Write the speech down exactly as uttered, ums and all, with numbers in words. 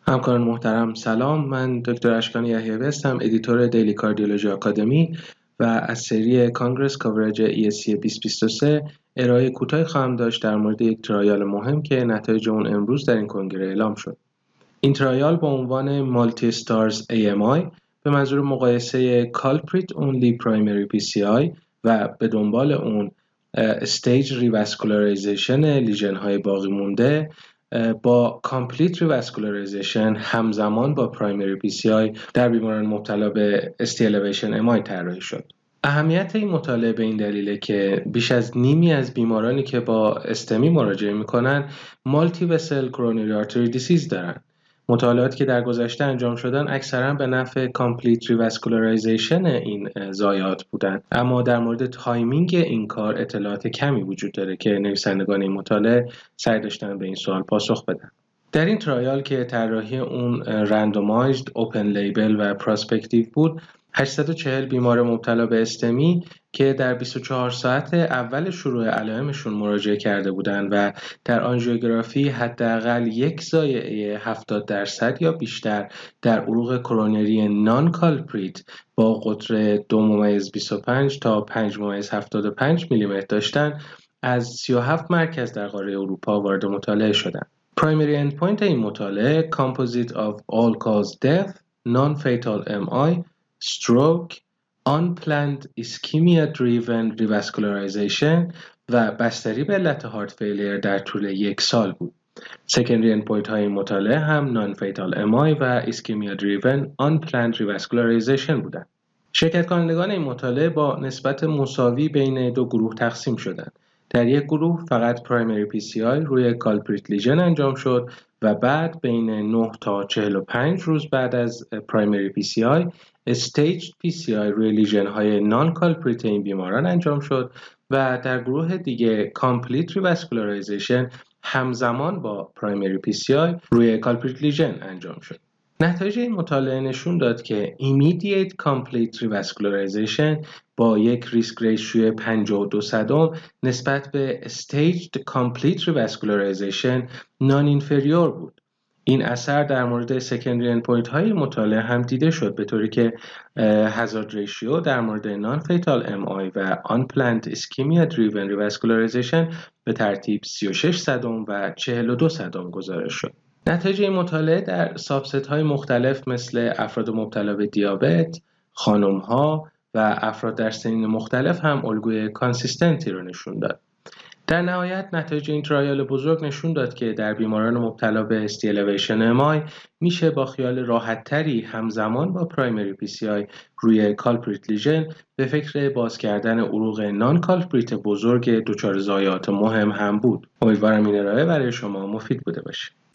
همکاران محترم سلام. من دکتر اشکان یحیوی هستم، ادیتور دیلی کاردیولوژی آکادمی و از سری کانگرس کاورج ای اس سی بیست بیست و سه ارائه کوتاهی خواهم داشت در مورد یک ترایال مهم که نتایج اون امروز در این کنگره اعلام شد. این ترایال با عنوان مالتی استارز ای ام آی به منظور مقایسه کالپریت اونلی پرایمری پی سی آی و به دنبال اون استیج ریواسکولاریزیشن لیژن های باقی مونده با کامپلیت ریواسکولاریزیشن همزمان با پرایمری پی سی آی در بیماران مبتلا به استی الیویشن ام آی طراحی شد. اهمیت این مطالعه به این دلیله که بیش از نیمی از بیمارانی که با استمی مراجعه میکنن مالتی وسل کرونری آرتری دیسیز دارن. مطالعاتی که در گذشته انجام شدن اکثرا به نفع کامپلیت ریواسکولاریزیشن این ضایعات بودن، اما در مورد تایمینگ این کار اطلاعات کمی وجود داره که نویسندگان این مطالعه سعی داشتن به این سوال پاسخ بدن. در این ترایال که طراحی اون رندومایزد، اوپن لیبل و پراسپکتیو بود، هشتصد و چهل بیمار مبتلا به استمی که در بیست و چهار ساعت اول شروع علائمشون مراجعه کرده بودند و در آنژیوگرافی حداقل یک ضایعه هفتاد درصد یا بیشتر در عروق کرونری نان کالپریت با قطر دو ممیز بیست و پنج تا پنج ممیز هفتاد و پنج میلیمتر داشتن، از سی و هفت مرکز در قاره اروپا وارد مطالعه شدند. پرایمری اندپوینت این مطالعه Composite of All Cause Death, Non-Fatal ام آی, Stroke, Unplanned Ischemia-Driven Revascularization و بستری به علت هارت فیلیر در طول یک سال بود. سکندری اندپوینت های این مطالعه هم Non-Fatal ام آی و Ischemia-Driven Unplanned Revascularization بودند. شرکت کنندگان این مطالعه با نسبت مساوی بین دو گروه تقسیم شدند. در یک گروه فقط پرایمری پی سی آی روی کالپریت لیژن انجام شد و بعد بین نه تا چهل و پنج روز بعد از پرایمری پی سی آی استیج پی سی آی روی لیژن های نان کالپریت این بیماران انجام شد و در گروه دیگه کامپلیت ریواسکولاریزیشن همزمان با پرایمری پی سی آی روی کالپریت لیژن انجام شد. نتایج این مطالعه نشون داد که Immediate Complete Revascularization با یک ریسک ریشیو پنجاه و دو صدم نسبت به Staged Complete Revascularization Non-Inferior بود. این اثر در مورد سکندری اندپوینت های مطالعه هم دیده شد، به طوری که هازارد ریشیو در مورد Non-Fatal ام آی و Unplanned Ischemia-Driven Revascularization به ترتیب سی و شش صدم و چهل و دو صدم گزارش شد. نتایج این مطالعه در سابست های مختلف مثل افراد مبتلا به دیابت، خانم‌ها و افراد در سنین مختلف هم الگوی کانسیستنتی رو نشون داد. در نهایت نتایج این ترایال بزرگ نشون داد که در بیماران مبتلا به استی الیویشن ام آی میشه با خیال راحت‌تری همزمان با پرایمری پی سی آی روی کالپریت لیژن به فکر باز کردن عروق نان کالپریت بزرگ دچار ضایعات مهم هم بود. امیدوارم این ارائه برای شما مفید بوده باشه.